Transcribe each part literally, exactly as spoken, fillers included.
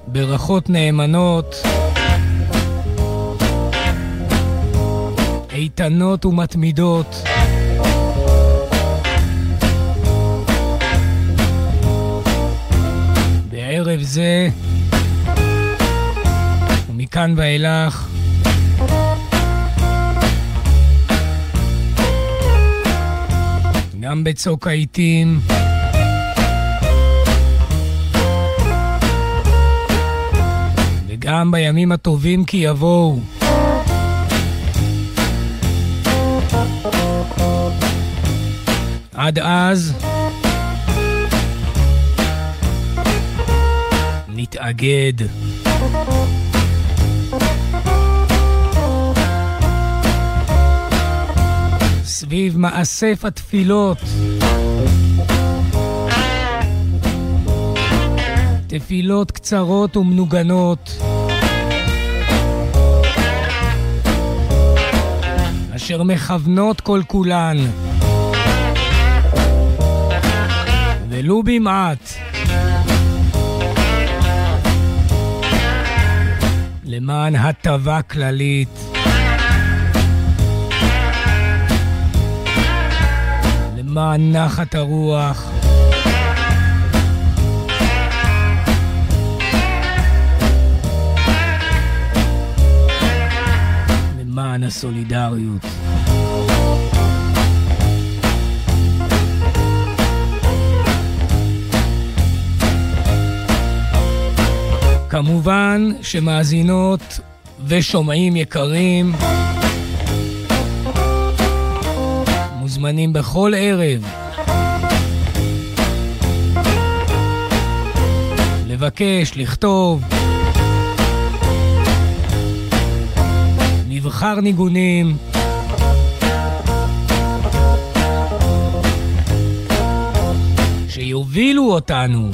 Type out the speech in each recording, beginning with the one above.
ברכות נאמנות, איתנות ומתמידות, בערב זה ומכאן ואילך גם בצוק העיתים וגם בימים הטובים כי יבואו. עד אז נתאגד. סביב מאסף התפילות, תפילות קצרות ומנוגנות אשר מכוונות כל כולן ולו במעט למען הטבה כללית, למען נחת הרוח, למען הסולידריות. כמובן שמאזינות ושומעים יקרים מוזמנים בכל ערב לבקש, לכתוב, נבחר ניגונים שיובילו אותנו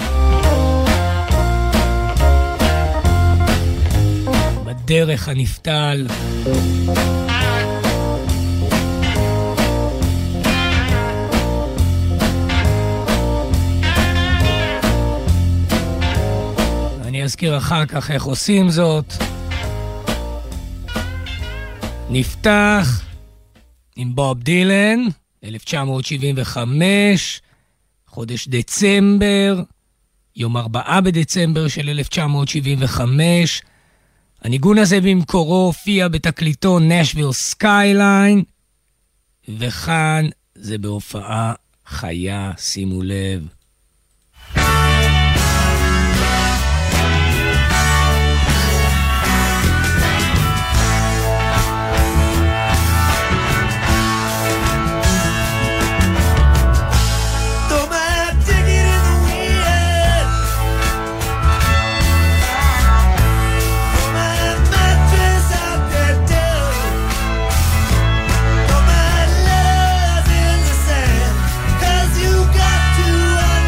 בדרך הנפתל. אני אזכיר אחר כך איך עושים זאת. נפתח עם בוב דילן, אלף תשע מאות שבעים וחמש, חודש דצמבר, יום ארבעה בדצמבר של אלף תשע מאות שבעים וחמש. הניגון הזה במקורו הופיע בתקליטו נשוויל סקייליין, וכאן זה בהופעה חיה, שימו לב. To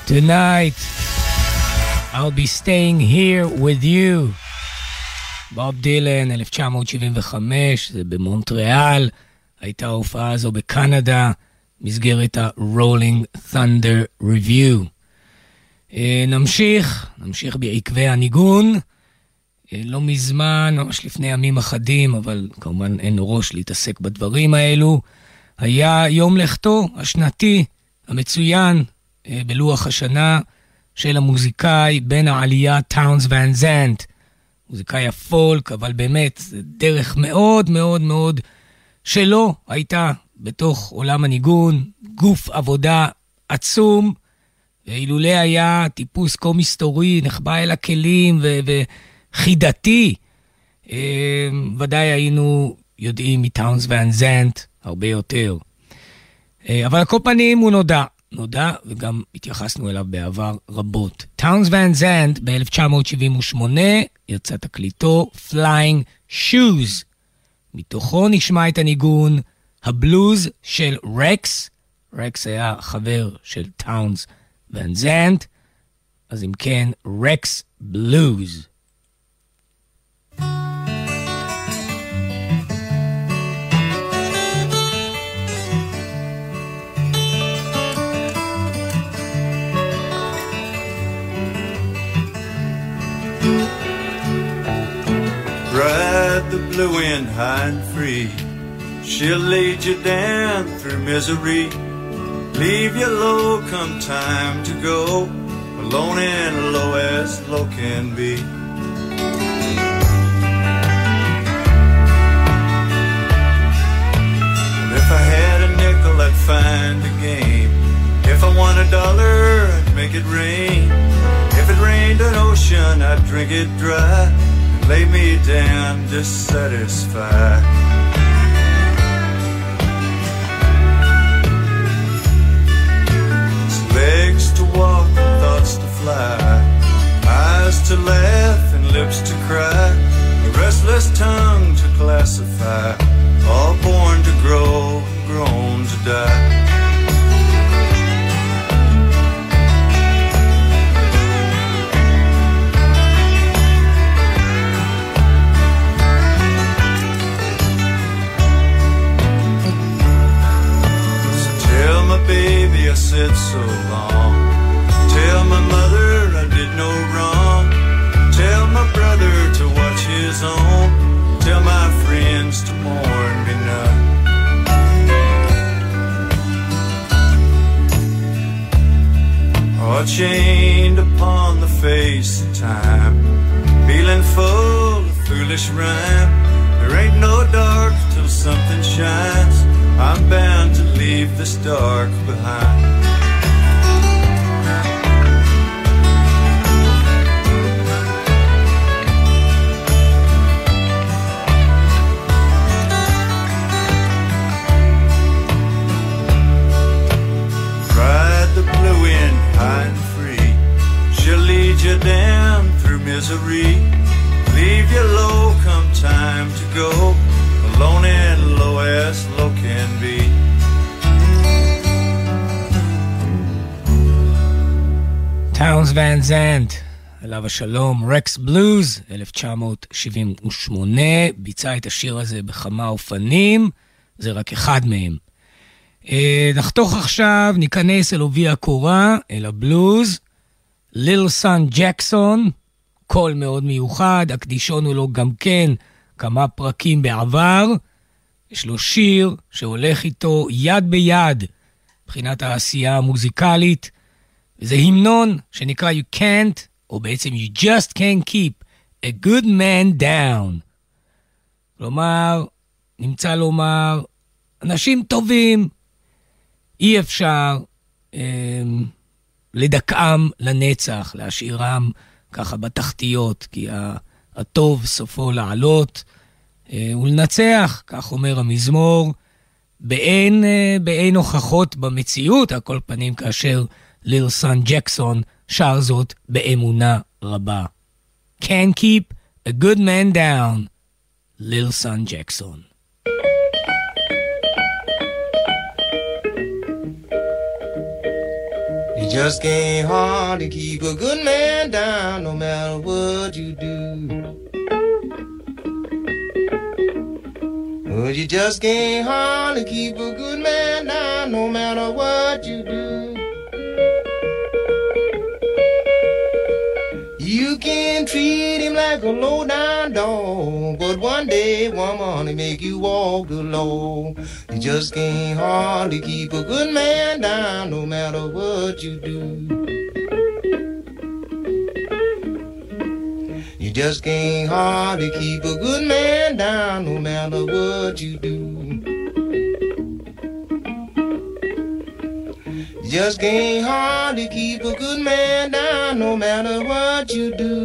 Tonight, I'll be staying here with you. בוב דילן, אלף תשע מאות שבעים וחמש, זה במונטריאל, הייתה ההופעה הזו בקנדה, מסגרת ה-Rolling Thunder Review. נמשיך, נמשיך בעקבי הניגון, לא מזמן, ממש לפני ימים אחדים, אבל כמובן אין ראש להתעסק בדברים האלו, היה יום לכתו השנתי המצוין בלוח השנה של המוזיקאי בן העלייה טאונס ואן זנט, מוזיקאי הפולק, אבל באמת זה דרך מאוד מאוד מאוד שלו הייתה בתוך עולם הניגון, גוף עבודה עצום, ואילולא היה טיפוס כה מסתורי, נחבא אל הכלים ו- וחידתי, אה, ודאי היינו יודעים מטאונס ואן זנט הרבה יותר. אה, אבל על כל פנים הוא נודע, נודע וגם התייחסנו אליו בעבר רבות. טאונס ואן זנט ב-אלף תשע מאות שבעים ושמונה יצא תקליטו Flying Shoes. מתוכו נשמע את הניגון הבלוז של רקס. רקס היה חבר של טאונס ואן זנט, אז אם כן, רקס בלוז. Ride the blue wind high and free, she'll lead you down through misery, leave you low come time to go, alone and low as low can be. And if I had a nickel I'd find a game, if I won a dollar I'd make it rain, if it rained an ocean I'd drink it dry, lay me down dissatisfied. Legs to walk and thoughts to fly, eyes to laugh and lips to cry, a restless tongue to classify, all born to grow and grown to die. Baby, I said so long. Tell my mother I did no wrong. Tell my brother to watch his own. Tell my friends to mourn me none. Oh, chained upon the face of time, feeling full of foolish rhyme. There ain't no dark till something shines. I'm bound to leave this dark behind. Ride the blue wind high and free, she'll lead you down through misery, leave you low come time to go, alone and low as low can be. טאונס ואן זנט, עליו השלום, רקס בלוז, אלף תשע מאות שבעים ושמונה, ביצע את השיר הזה בכמה אופנים, זה רק אחד מהם. נחתוך עכשיו, ניכנס אל עובי הקורה, אל הבלוז, ליל סן ג'קסון, קול מאוד מיוחד, הקדישון הוא לו גם כן כמה פרקים בעבר, יש לו שיר שהולך איתו יד ביד, מבחינת העשייה המוזיקלית, וזה המנון שנקרא You Can't, או בעצם You Just Can't Keep a Good Man Down. כלומר, נמצא לומר, אנשים טובים, אי אפשר אה, לדכאם לנצח, להשאירם ככה בתחתיות, כי הטוב סופו לעלות אה, ולנצח, כך אומר המזמור, באין, אה, באין הוכחות במציאות, על כל פנים כאשר ליל סן ג'קסון שר זאת באמונה רבה. Can't keep a good man down, ליל סן ג'קסון. You just can't hardly keep a good man down no matter what you do. Oh, you just can't hardly keep a good man down no matter what you do. You can treat him like a low-down dog, but one day, woman, he make you walk the law. You just can't hardly keep a good man down no matter what you do. You just can't hardly keep a good man down no matter what you do. You just can't hardly keep a good man down no matter what you do.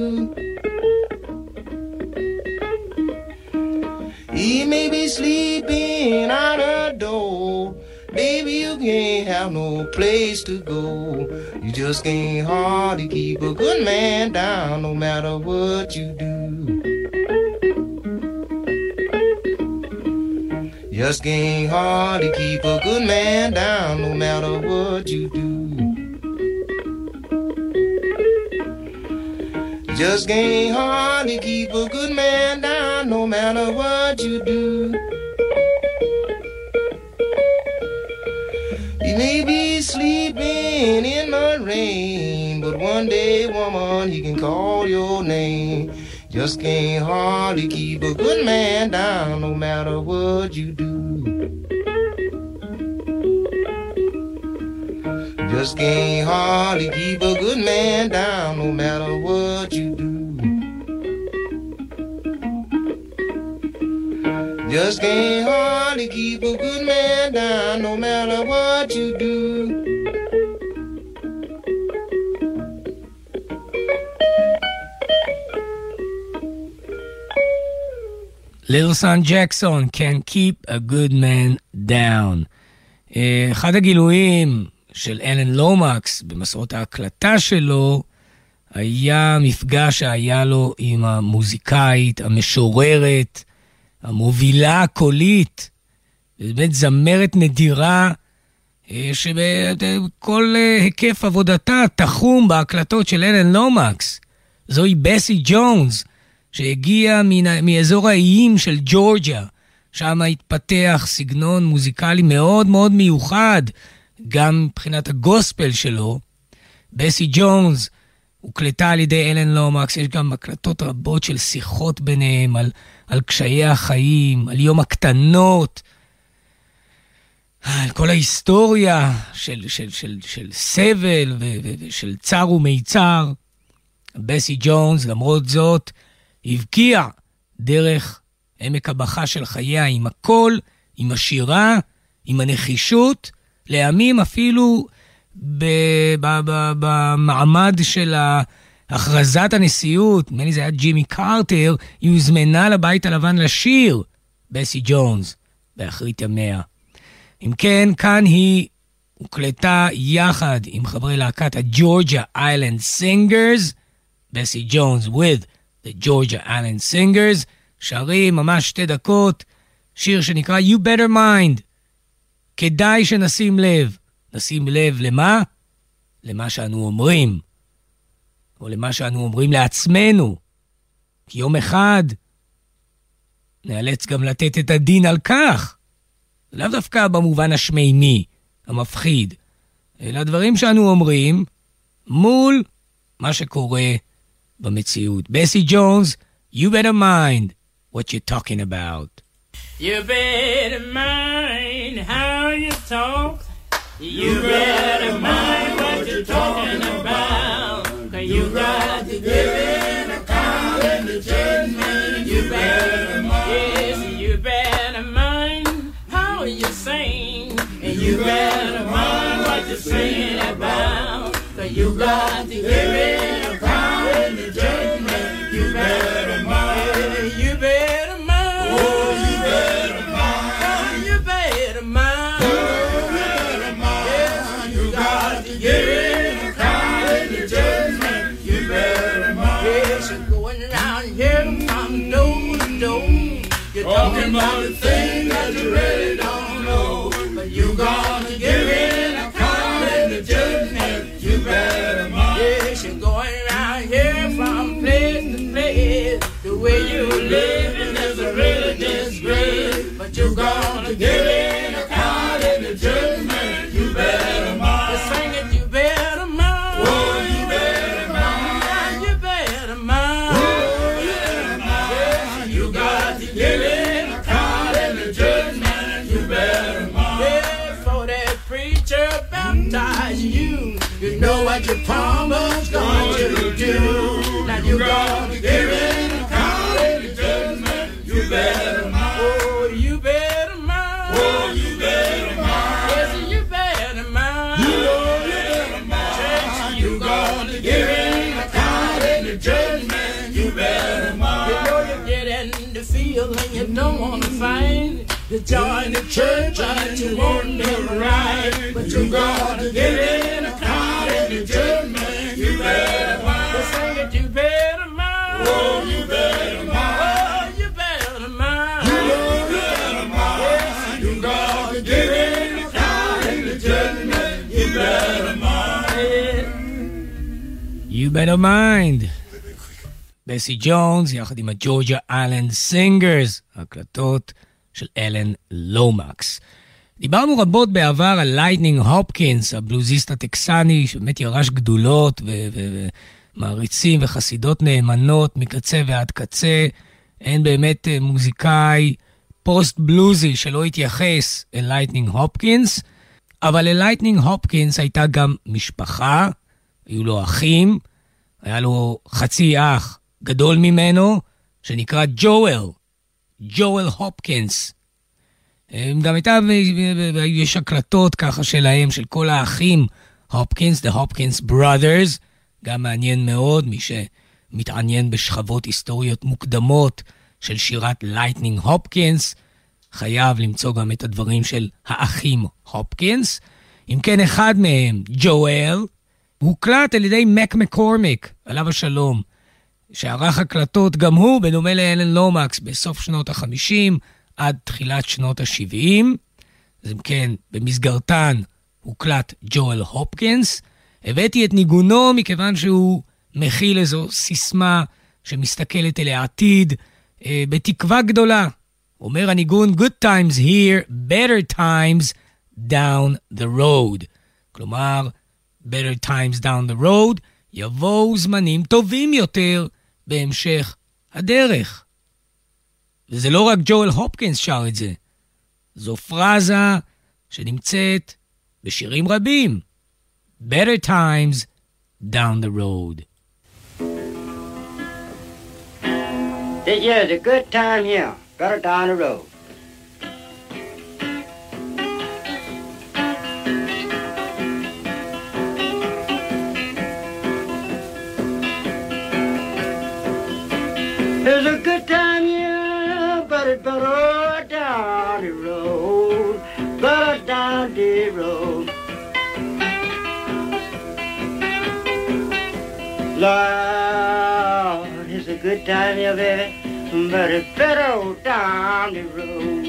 He may be sleeping out a door, baby, you can't have no place to go. You just can't hardly keep a good man down no matter what you do. Just can't hardly keep a good man down no matter what you do. Just can't hardly keep a good man down no matter what you do. He may be sleeping in the rain, but one day, woman, he can call your name. Just can't hardly keep a good man down no matter what you do. Just can't hardly keep a good man down no matter what you do. Just can't hardly keep a good man down no matter what you do. Little Son Jackson, Can't Keep a Good Man Down. אחד הגילויים של אלן לומקס במסעות ההקלטה שלו היה מפגש שהיה לו עם המוזיקאית, המשוררת, המובילה הקולית, באמת זמרת נדירה, שבכל היקף עבודתה תחום בהקלטות של אלן לומקס. זוהי בסי ג'ונס, שהגיעה מאזור האיים של ג'ורג'יה, שם התפתח סגנון מוזיקלי מאוד מאוד מיוחד, גם מבחינת הגוספל שלו. בסי ג'ונס הוקלטה על ידי אלן לומקס, יש גם הקלטות רבות של שיחות ביניהם על, על קשיי החיים, על יום הקטנות, על כל ההיסטוריה של, של, של, של סבל ושל צר ומיצר. בסי ג'ונס, למרות זאת, הבקיע דרך עמק הבכה של חייה עם הכל, עם השירה, עם הנחישות, לימים אפילו במעמד של הכרזת הנשיאות, נדמה לי זה היה ג'ימי קרטר, היא הוזמנה לבית הלבן לשיר, בסי ג'ונס, באחרית ימיה. אם כן, כאן היא הוקלטה יחד עם חברי להקת הג'ורג'יה איילנד סינגרס, בסי ג'ונס with the Georgia Island Singers, שרים ממש שתי דקות, שיר שנקרא You Better Mind. כדאי שנשים לב. נשים לב למה? למה שאנו אומרים. או למה שאנו אומרים לעצמנו. כי יום אחד נאלץ גם לתת את הדין על כך. לאו דווקא במובן השמימי, המפחיד, אלא דברים שאנו אומרים מול מה שקורה במציאות. בסי ג'ונס, you better mind what you're talking about. You better mind how you talk. You better mind what you're talking about. Cause you got to give an account in the judgment. You better mind. Yes, you better mind how you sing. And you better mind what you're singing about. Cause you got to give an account in the judgment. You better mind. You better mind. Oh, you better mind. Oh, you better mind. Oh, you better mind. Yes, you got to give an account in the judgment. You better mind. Yes, you're going around here from door to door. You're talking about the thing that you really don't know. But you got to give an account in the judgment. You better You know what your promise going to do. Now you gotta give it a count in the judgment. You better mind. Oh, you better mind. Oh, you better mind. Yes, you better mind. You know you better mind. You gotta give it a count in the judgment. You better mind. You know you get in the field and you don't wanna fight. You join the church and you want them right, but you gotta give it a count in the judgment. You better mind. Well, sing it, you better mind. Oh, you better mind. Oh, you better mind. You know you better mind. Yes, you gotta give it a count in the judgment. You better mind. You better mind. בסי ג'ונס יחד עם הג'ורג'ה אלן סינגרס, הקלטות של אלן לומקס. דיברנו רבות בעבר על לייטנינג הופקינס, הבלוזיסט הטקסני, שבאמת ירש גדולות ומעריצים וחסידות נאמנות מקצה ועד קצה. אין באמת מוזיקאי פוסט בלוזי שלא התייחס אל לייטנינג הופקינס, אבל ללייטנינג הופקינס הייתה גם משפחה, היו לו אחים, היה לו חצי אח גדול ממנו, שנקרא ג'ואל. ג'ואל הופקינס. גם הייתה, יש הקלטות ככה שלהם, של כל האחים הופקינס, the Hopkins brothers, גם מעניין מאוד, מי שמתעניין בשכבות היסטוריות מוקדמות של שירת לייטנינג הופקינס, חייב למצוא גם את הדברים של האחים הופקינס. אם כן, אחד מהם, ג'ואל, הוקלט על ידי מק מקורמיק, עליו השלום, שערך הקלטות גם הוא, בדומה לאלן לומקס, בסוף שנות ה-חמישים עד תחילת שנות ה-שבעים. אז אם כן, במסגרתן הוקלט ג'ואל הופקינס. הבאתי את ניגונו מכיוון שהוא מכיל איזו סיסמה שמסתכלת אל העתיד, אה, בתקווה גדולה. אומר הניגון, good times here, better times down the road. כלומר, better times down the road, יבואו זמנים טובים יותר בהמשך הדרך. וזה לא רק ג'ואל הופקינס שר את זה. זו פרזה שנמצאת בשירים רבים. Better times down the road. This year's a good time here. Better down the road. There's a good time here, but it's better down the road, better down the road. Lord, it's a good time here, baby, but it's better down the road.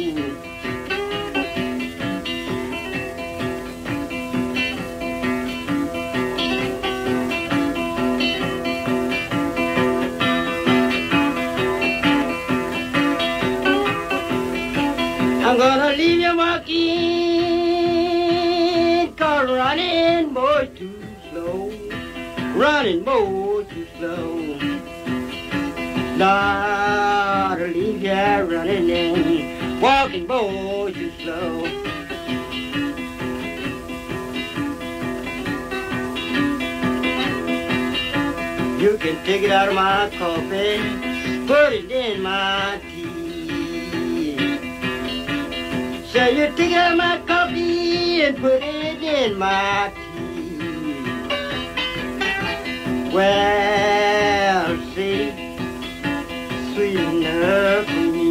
I'm gonna leave you walking, cause running boy too slow, running boy too slow. Lord, I'll leave you running and walking boy too slow. You can take it out of my coffee, put it in my tea. So you take out my coffee and put it in my tea. Well, see, sweet enough for me.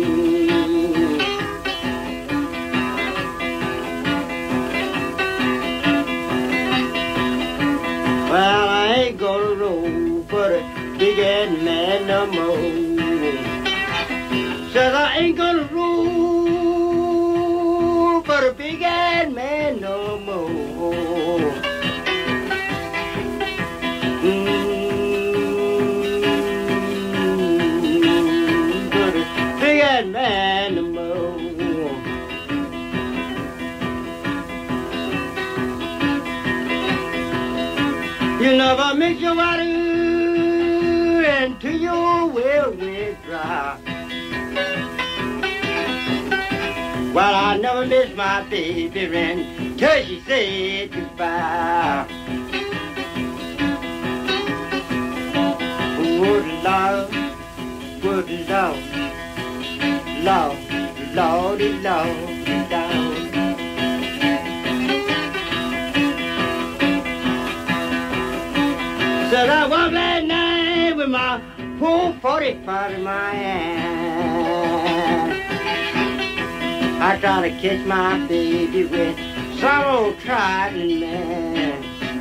Well, I ain't gonna roll for the big head man no more. Said I ain't gonna roll for a big head man no more. Mm-hmm. For a big head man no more. You never mix your water into your well with dry. Well, I never miss my baby until she said goodbye. Lord, Lord, Lordy, Lord, Lord. Said I walked that night with my whole forty-five in my hand. I tried to catch my baby with some old trident man.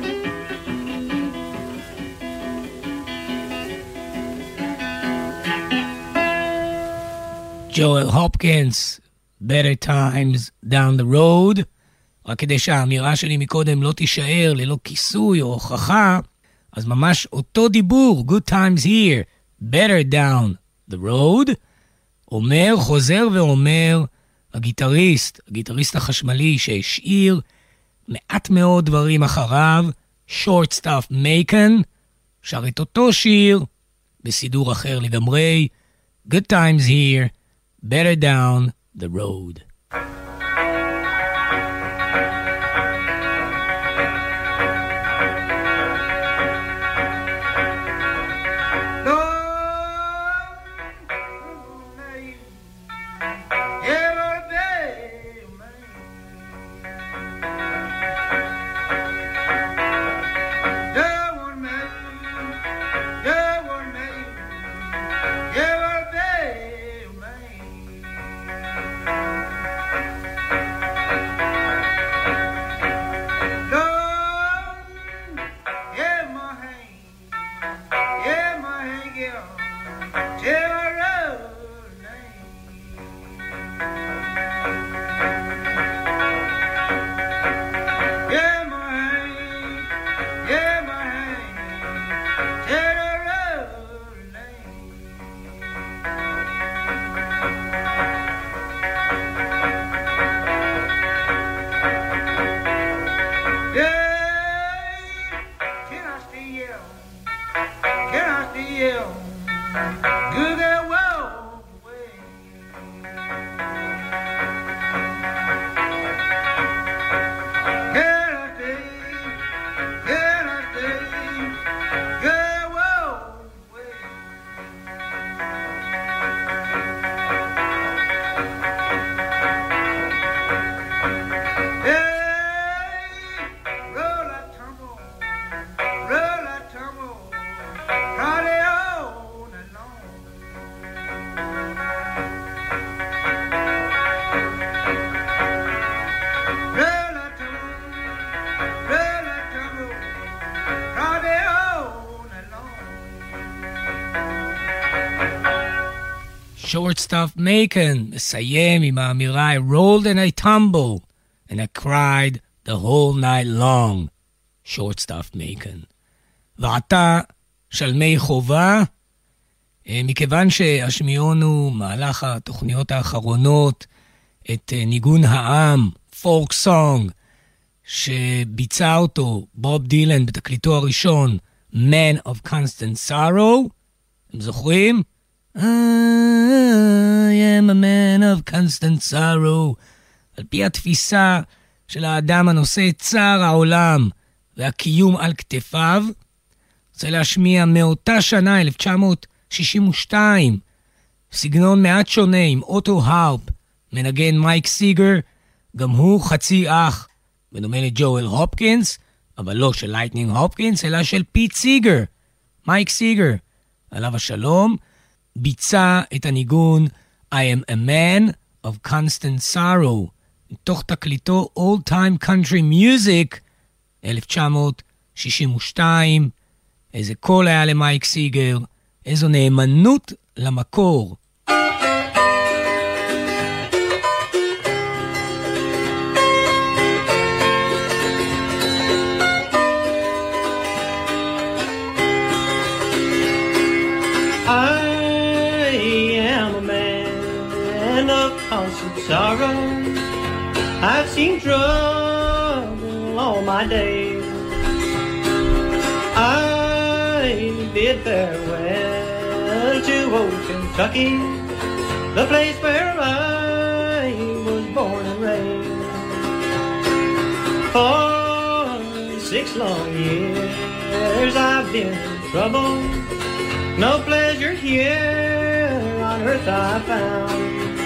Joel Hopkins, Better Times Down the Road. רק כדי שהאמירה שלי מקודם לא תישאר ללא כיסוי או הוכחה, אז ממש אותו דיבור, Good Times Here, Better Down the Road, אומר, חוזר ואומר, הגיטריסט, הגיטריסט החשמלי שהשאיר מעט מאוד דברים אחריו, Shortstop Macon, שר את אותו שיר, בסידור אחר לגמרי, Good Times Here, Better Down the Road. Shortstop Macon מסיים עם האמירה I rolled and I tumbled and I cried the whole night long. Shortstop Macon. ועתה שלמי חובה, מכיוון שהשמיעונו מהלך התוכניות האחרונות את ניגון העם, פולק סונג, שביצע אותו בוב דילן בתקליטו הראשון, Man of Constant Sorrow, אתם זוכרים? I am a man of constant sorrow. על פי התפיסה של האדם הנושא את צער העולם והקיום על כתפיו, רוצה להשמיע מאותה שנה, אלף תשע מאות שישים ושתיים, סגנון מעט שונה עם אוטו הרפ, מנגן מייק סיגר, גם הוא חצי אח, בדומה לג'ואל הופקינס, אבל לא של לייטנינג הופקינס, אלא של פיט סיגר. מייק סיגר, עליו השלום, ביצע את הניגון I am a man of constant sorrow, מתוך תקליטו Old Time Country Music, אלף תשע מאות שישים ושתיים. איזה קול היה למייק סיגר, איזו נאמנות למקור. Sorrow, I've seen trouble all my days. I bid farewell to old Kentucky, the place where I was born and raised. For six long years I've been in trouble, no pleasure here earth I found.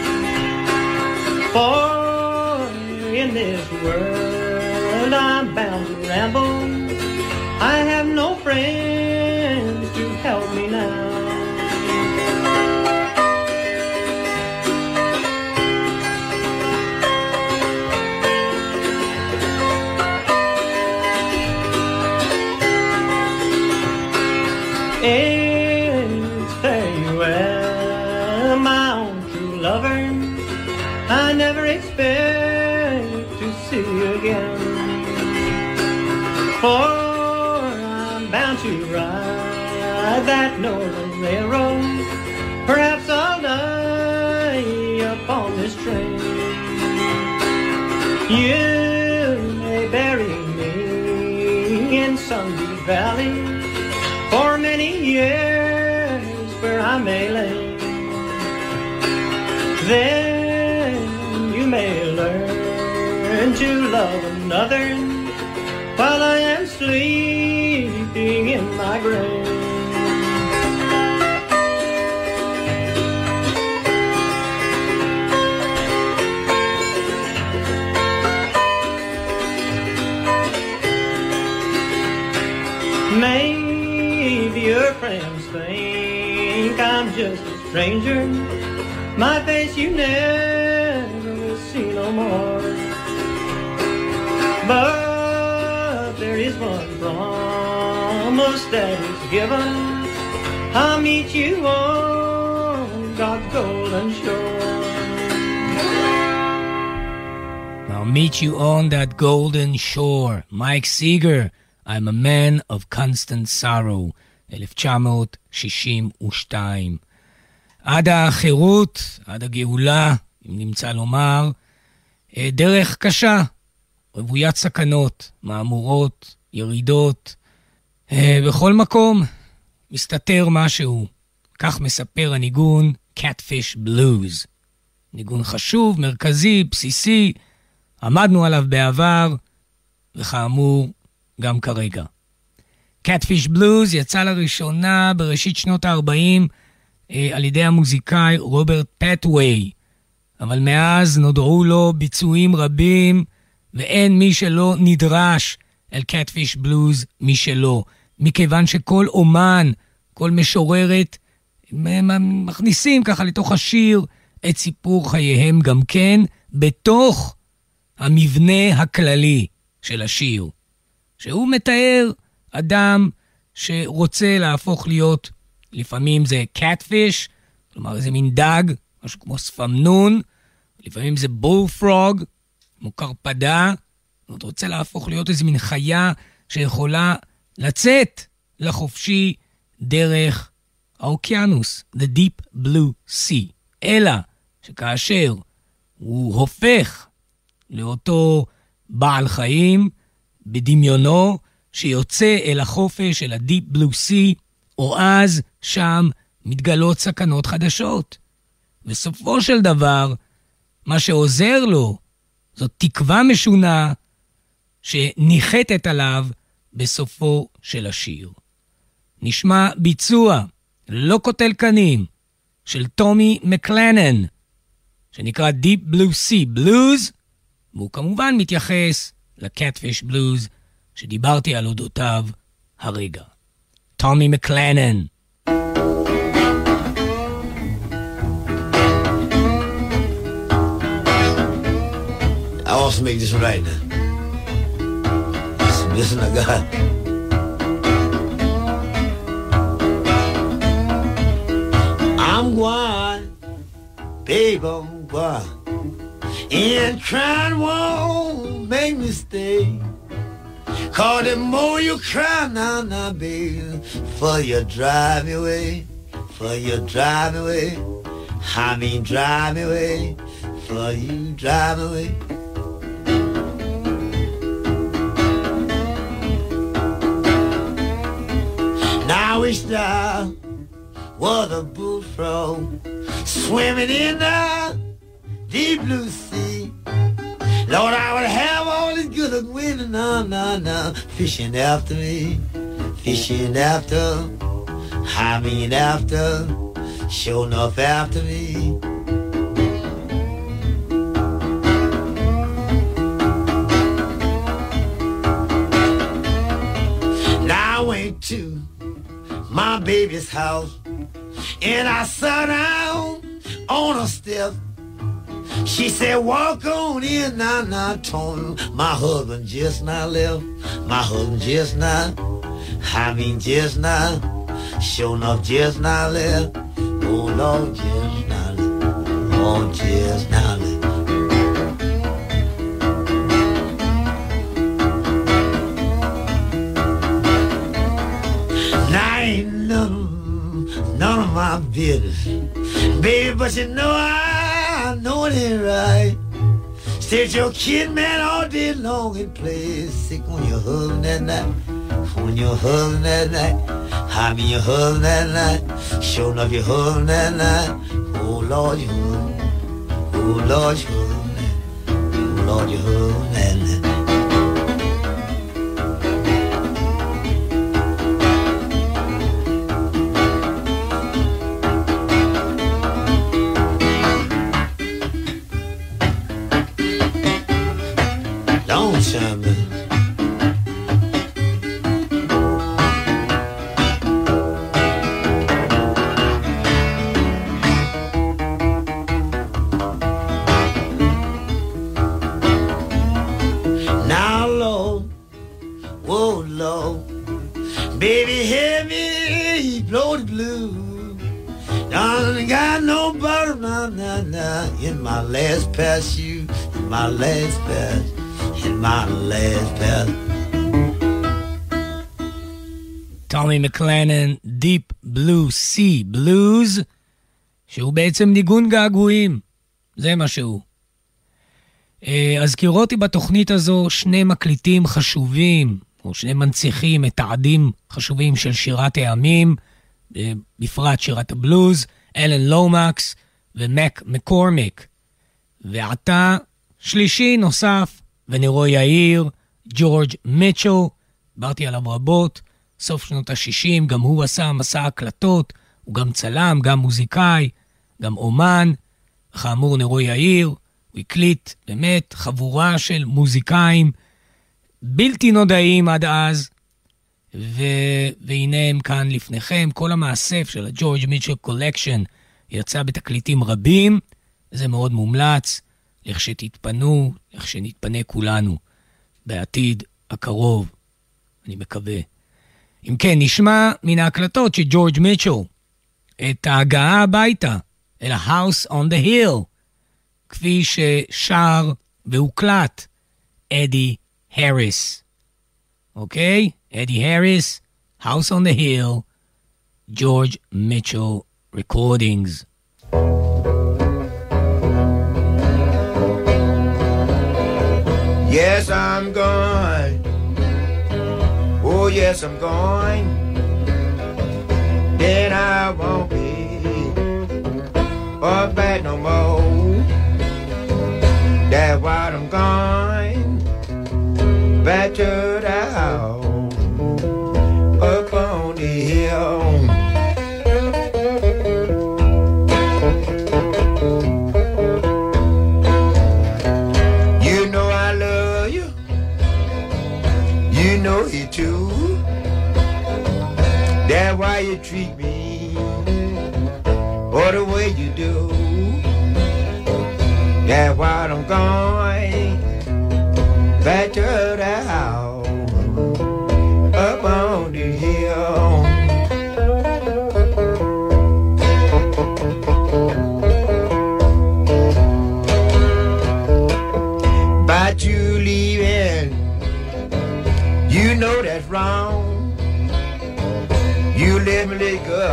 For in this world I'm bound to ramble. I have no friends to help me now. It's farewell, my own true lover. I never expect to see you again. For I'm bound to ride that northern railroad. Perhaps I'll die upon this train. You may bury me in some deep valley for many years where I may lay. Then you may learn to love another while I am sleeping in my grave. Maybe your friends think I'm just a stranger. My face you never will see no more. But there is one promise that is given. I'll meet you on God's golden shore. I'll meet you on that golden shore. Mike Seeger, I'm a man of constant sorrow, אלף תשע מאות שישים ושתיים. עד החירות, עד הגאולה, אם נמצא לומר, דרך קשה, רוויית סכנות, מאמורות, ירידות. בכל מקום מסתתר משהו. כך מספר הניגון Catfish Blues. ניגון חשוב, מרכזי, בסיסי, עמדנו עליו בעבר, וכאמור, גם כרגע. Catfish Blues יצא לראשונה בראשית שנות ה-ארבעים אה, על ידי המוזיקאי רוברט פטווי, אבל מאז נודעו לו ביצועים רבים, ואין מי שלא נדרש אל Catfish Blues משלו, מכיוון שכל אומן, כל משוררת, מכניסים ככה לתוך השיר את סיפור חייהם גם כן, בתוך המבנה הכללי של השיר. שהוא מתאר אדם שרוצה להפוך להיות, לפעמים זה catfish, כלומר איזה מין דג, משהו כמו ספמנון, לפעמים זה bullfrog, כמו קרפדה, הוא רוצה להפוך להיות איזה מין חיה שיכולה לצאת לחופשי דרך האוקיינוס, the deep blue sea. אלא שכאשר הוא הופך לאותו בעל חיים, בדמיונו שיוצא אל החופש, אל ה-Deep Blue Sea, או אז שם מתגלות סכנות חדשות. בסופו של דבר, מה שעוזר לו, זאת תקווה משונה שניחתת עליו בסופו של השיר. נשמע ביצוע לא קוטל קנים של טומי מקלנן, שנקרא Deep Blue Sea Blues, והוא כמובן מתייחס לקטפיש בלוז שדיברתי על אודותיו הרגע. טומי מקלנן. I want to make this right now. Listen to God. I'm going, baby, I'm going. And crying won't make me stay. Cause the more you cry now, now, baby, for you drive me away, for you drive me away. I mean drive me away, for you drive me away. Now I wish there was a bullfrog swimming in the deep blue sea. Lord, I would have all this good of women, no, no, no, fishing after me, fishing after, I mean after sure enough after me. Now I went to my baby's house and I sat down on a step. She said, walk on in now, now, Tony. My husband just now left. My husband just now. I mean just now. Sure enough just now left. Oh, Lord, just now left. Oh, just now left. Now ain't none, none of my business, baby, but you know I, I know it ain't right. Stay your kid, man, all day long and play sick on your husband that night. On your husband that night. I mean your husband that night. Sure enough your husband that night. Oh, Lord, your husband. Oh, Lord, your husband. Oh, Lord, your husband that night. Don't chime in. Now, Lord, whoa, Lord, baby, hear me blow the blues. I ain't got no butter, nah, nah, nah, in my last pair of shoes, in my last pair. In my last path. טומי מקלנן, Deep Blue Sea Blues, שהוא בעצם ניגון געגועים, זה מה שהוא. הזכירו אותי בתוכנית הזו שני מקליטים חשובים, או שני מנציחים, מתעדים חשובים של שירת הימים, בפרט שירת הבלוז, אלן לומקס ומק מקורמיק. ועתה שלישי נוסף, ונרו יאיר, ג'ורג' מיטשל, דיברתי עליו רבות, סוף שנות ה-שישים, גם הוא עשה מסע הקלטות, הוא גם צלם, גם מוזיקאי, גם אומן, וכאמור נרו יאיר, הוא הקליט באמת חבורה של מוזיקאים בלתי נודעים עד אז, ו... והנה הם כאן לפניכם, כל המאסף של הג'ורג' מיטשל קולקשן יצא בתקליטים רבים, זה מאוד מומלץ, לכשתתפנו, לכשנתפנה כולנו, בעתיד הקרוב, אני מקווה. אם כן, נשמע מן ההקלטות של ג'ורג' מיטשל, את ההגעה הביתה, אל ה-House on the Hill, כפי ששר והוקלט אדי הריס. אוקיי? אדי הריס, House on the Hill, George Mitchell Recordings. Yes, I'm going. Oh, yes, I'm going. Then I won't be up back no more. That's why I'm going back to the house up on the hill. Know you too. That's why you treat me or the way you do. That's why I'm going back to the house up on the hill. But you leaving, you know that's wrong. You let me let go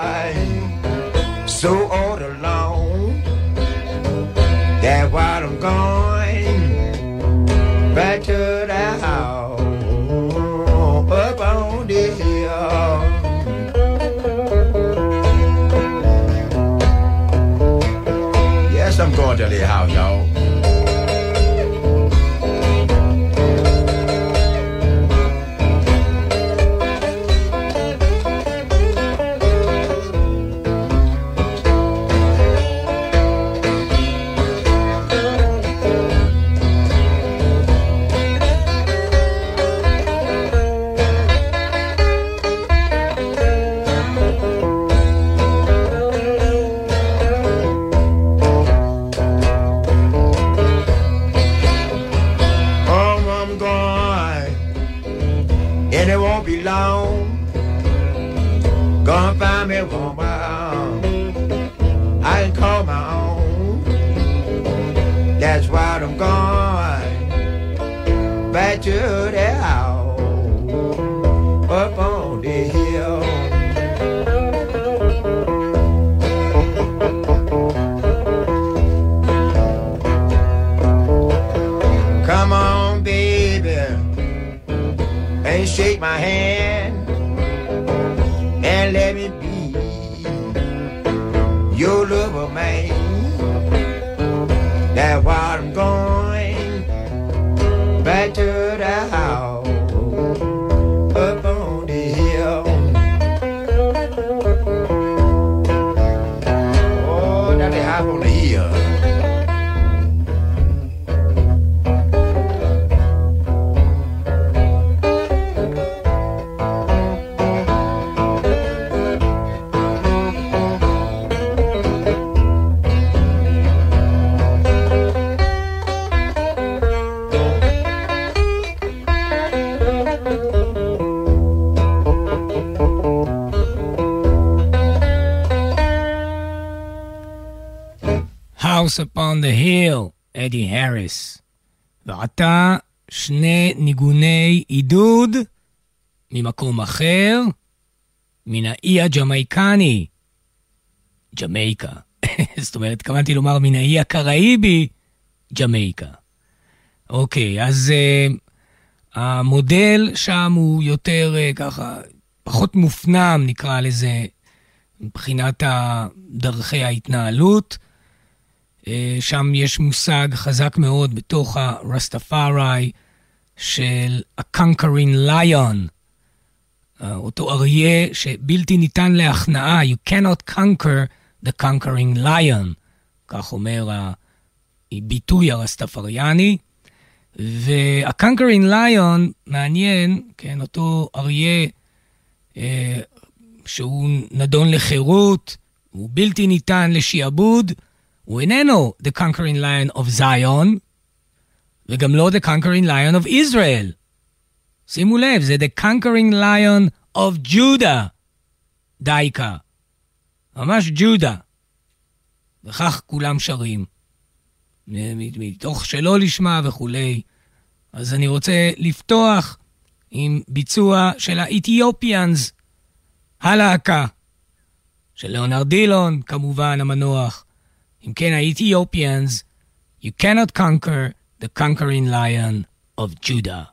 so all alone. That's why I'm going back to the house up on the hill. Yes, I'm going to the house, y'all. Gonna find me one I can call my own. That's why I'm going back to the house up on the hill. Come on, baby, and shake my hand and let me be your lover, man. That's why I'm going back to the house up on the hill. Oh, that's the house on the hill. House upon the Hill, אדי הריס. ועתה שני ניגוני עידוד ממקום אחר, מן האי הג'מייקני, ג'מייקה. זאת אומרת, התכוונתי לומר מן האי הקראיבי, ג'מייקה. אוקיי, אז uh, המודל שם הוא יותר uh, ככה, פחות מופנם, נקרא לזה, מבחינת דרכי ההתנהלות. שם יש מושג חזק מאוד בתוך הרסטפארי של ה-conquering lion, אותו אריה שבלתי ניתן להכנעה, you cannot conquer the conquering lion, כך אומר הביטוי הרסטפריאני, וה-conquering lion מעניין, כן, אותו אריה שהוא נדון לחירות, הוא בלתי ניתן לשיעבוד, הוא איננו the conquering lion of Zion, וגם לא the conquering lion of Israel. שימו לב, זה the conquering lion of Judah, דייקה. ממש ג'ודה. וכך כולם שרים. מתוך שלא לשמה וכולי. אז אני רוצה לפתוח עם ביצוע של האתיופיאנס, הלהקה. של ליאונרד דילון, כמובן המנוח. אם כן, האתיופיאנס, you cannot conquer the conquering lion of Judah.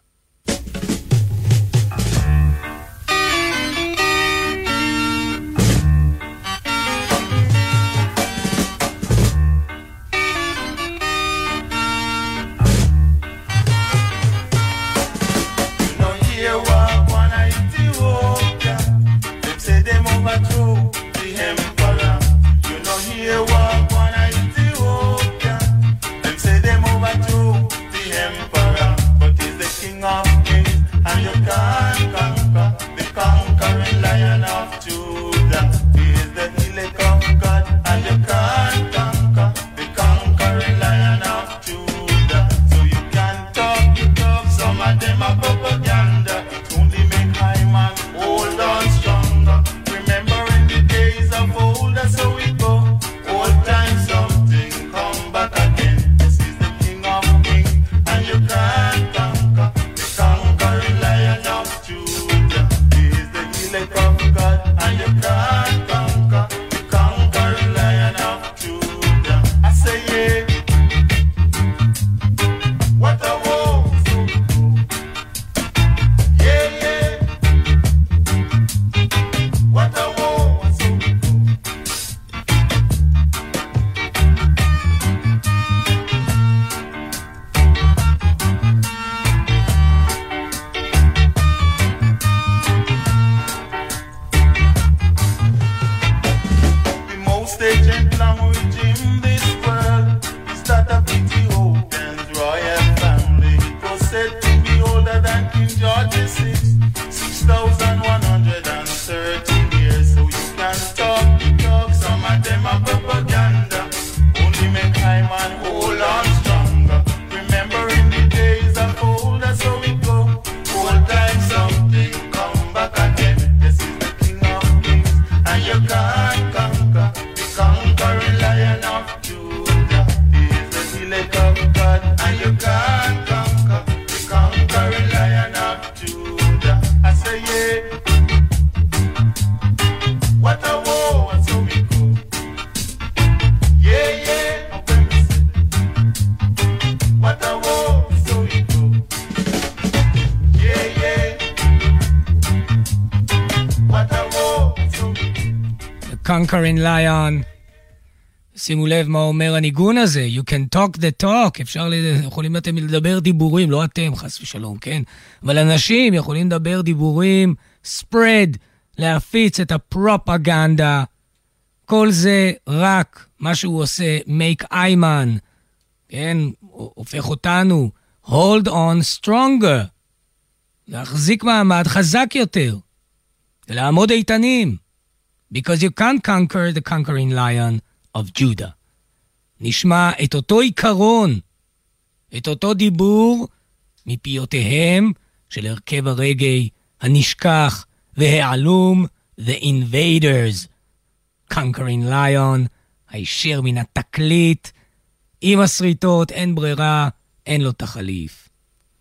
Conquering Lion. שימו לב מה אומר הניגון הזה, you can talk the talk, אפשר, יכולים אתם לדבר דיבורים, לא אתם, חס ושלום, כן? אבל אנשים יכולים לדבר דיבורים, spread, להפיץ את הפרופגנדה, כל זה רק מה שהוא עושה, make Ayman, כן? הופך אותנו, hold on stronger, להחזיק מעמד חזק יותר, ולעמוד איתנים, because you can't conquer the conquering lion of Judah. נשמע את אותו עיקרון, את אותו דיבור, מפיותיהם של הרכב הרגעי הנשכח והעלום, The Invaders. Conquering Lion, הישר מן התקליט, עם הסריטות, אין ברירה, אין לו תחליף.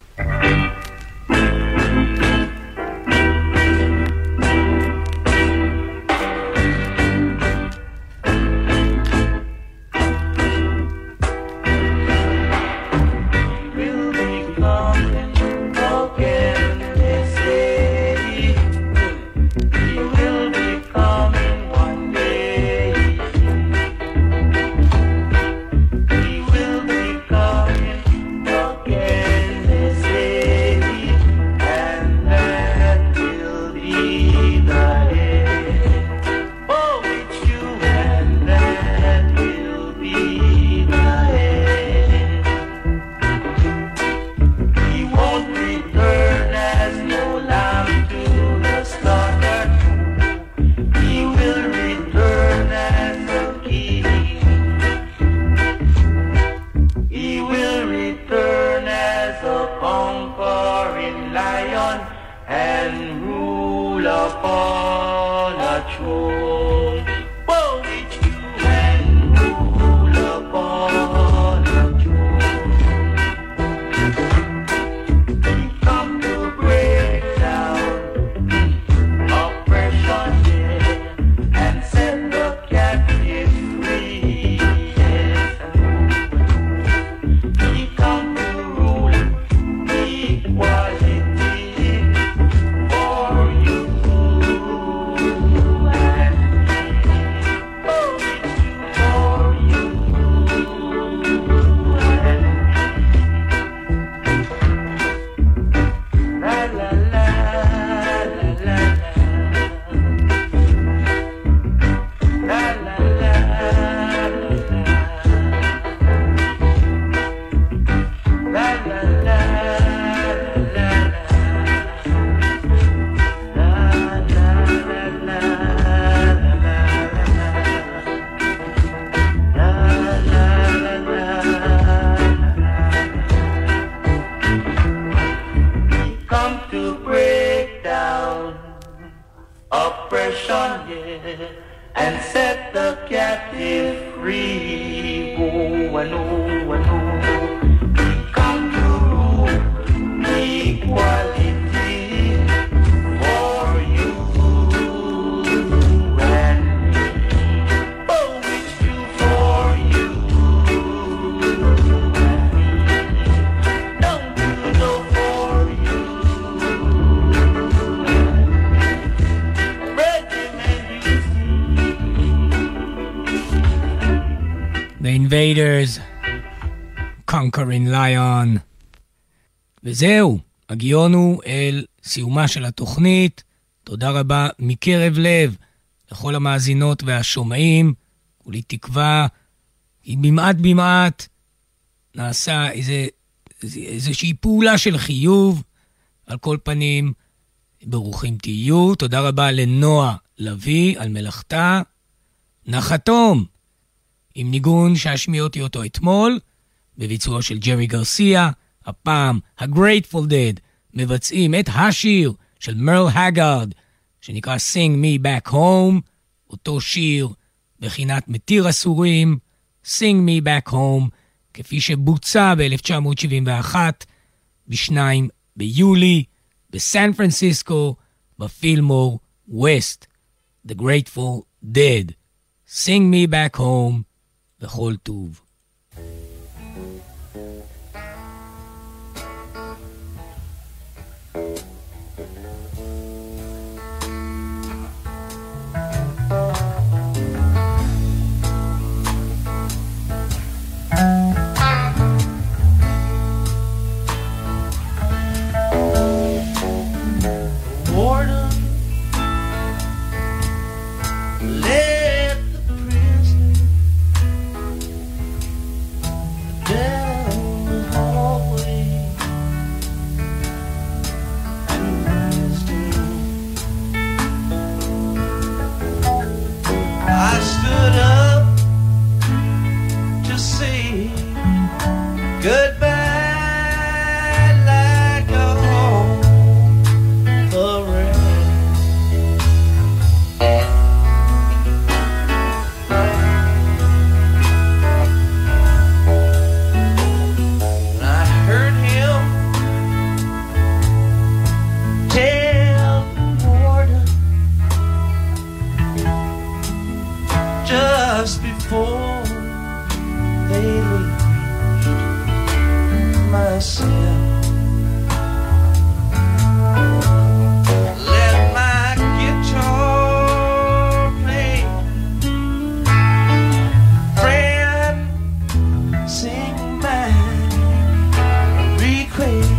Invaders, Conquering Lion. וזהו, הגיענו אל סיומה של התוכנית. תודה רבה מקרב לב לכל המאזינות והשומעים, כולי תקווה, כי במעט במעט נעשה איזה, איזה, איזושהי פעולה של חיוב. על כל פנים, ברוכים תהיו. תודה רבה לנועה לוי על מלאכתה. נחתום עם ניגון שהשמיעתי אותו אתמול, בביצוע של ג'רי גרסיה. הפעם ה-Grateful Dead מבצעים את השיר של מרל הגארד, שנקרא Sing Me Back Home, אותו שיר בחינת מתיר אסורים, Sing Me Back Home, כפי שבוצע ב-אלף תשע מאות שבעים ואחת, בשניים ביולי, בסן פרנסיסקו, בפילמור ווסט. The Grateful Dead, Sing Me Back Home, וכל טוב. Let the prisoner down the hallway to his doom. I stood up to say goodbye. Before they reached my cell, let my guitar play, friend, sing my request.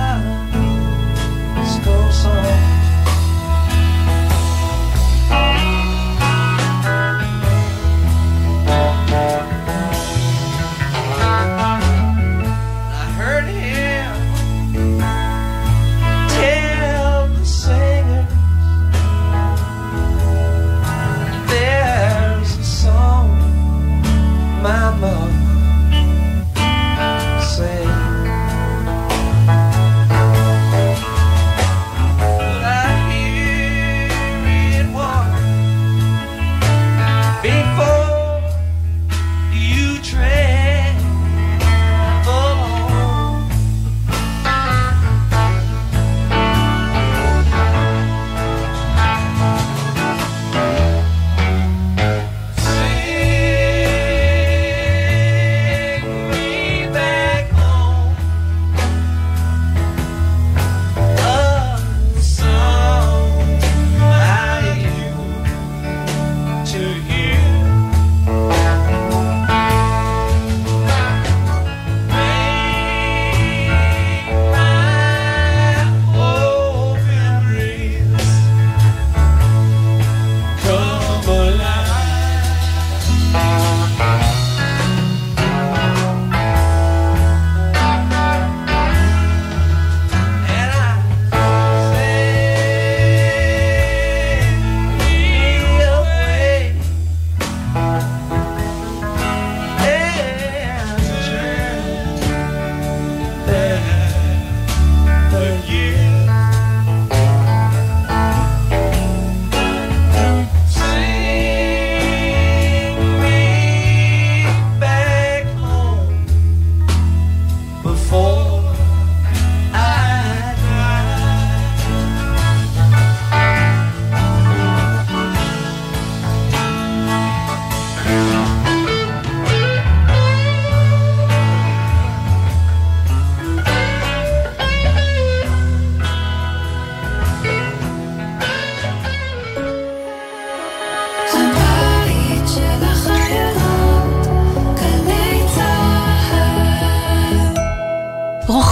Oh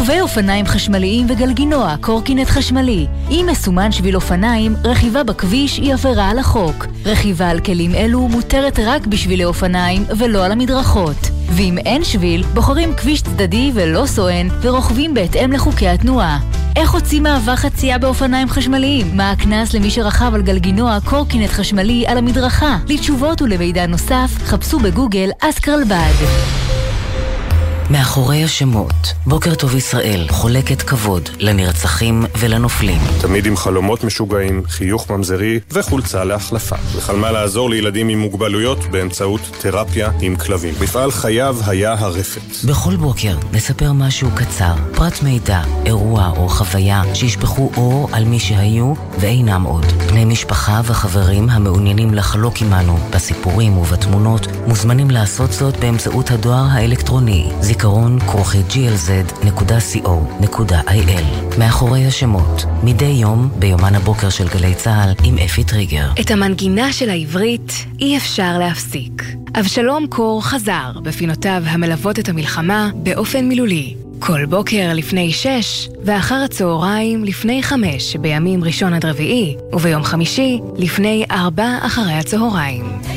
רוכבי אופניים חשמליים וגלגינוע, קורקינט חשמלי. אם מסומן שביל אופניים, רכיבה בכביש היא עבירה על החוק. רכיבה על כלים אלו מותרת רק בשבילי אופניים ולא על המדרכות. ואם אין שביל, בוחרים כביש צדדי ולא סואן ורוכבים בהתאם לחוקי התנועה. איך הוציא מעבר חצייה באופניים חשמליים? מה הכנס למי שרכב על גלגינוע קורקינט חשמלי על המדרכה? לתשובות ולמידע נוסף, חפשו בגוגל אסקרלבד. מאחורי השמות, בוקר טוב ישראל חולקת כבוד לנרצחים ולנופלים. תמיד עם חלומות משוגעים, חיוך ממזרי וחולצה להחלפה. וחלמה לעזור לילדים עם מוגבלויות באמצעות תרפיה עם כלבים. מפעל חייו היה הרפת. בכל בוקר נספר משהו קצר, פרט מידע, אירוע או חוויה שישפכו אור על מי שהיו ואינם עוד. בני משפחה וחברים המעוניינים לחלוק עמנו בסיפורים ובתמונות מוזמנים לעשות זאת באמצעות הדואר האלקטרוני. זיכרון כרוכי ג'י אל זד נקודה סי או נקודה איי אל. מאחורי השמות, מדי יום ביומן הבוקר של גלי צהל עם אפי טריגר. את המנגינה של העברית אי אפשר להפסיק. אבשלום קור חזר בפינותיו המלוות את המלחמה באופן מילולי. כל בוקר לפני שש ואחר הצהריים לפני חמש בימים ראשון עד רביעי וביום חמישי לפני ארבע אחרי הצהריים.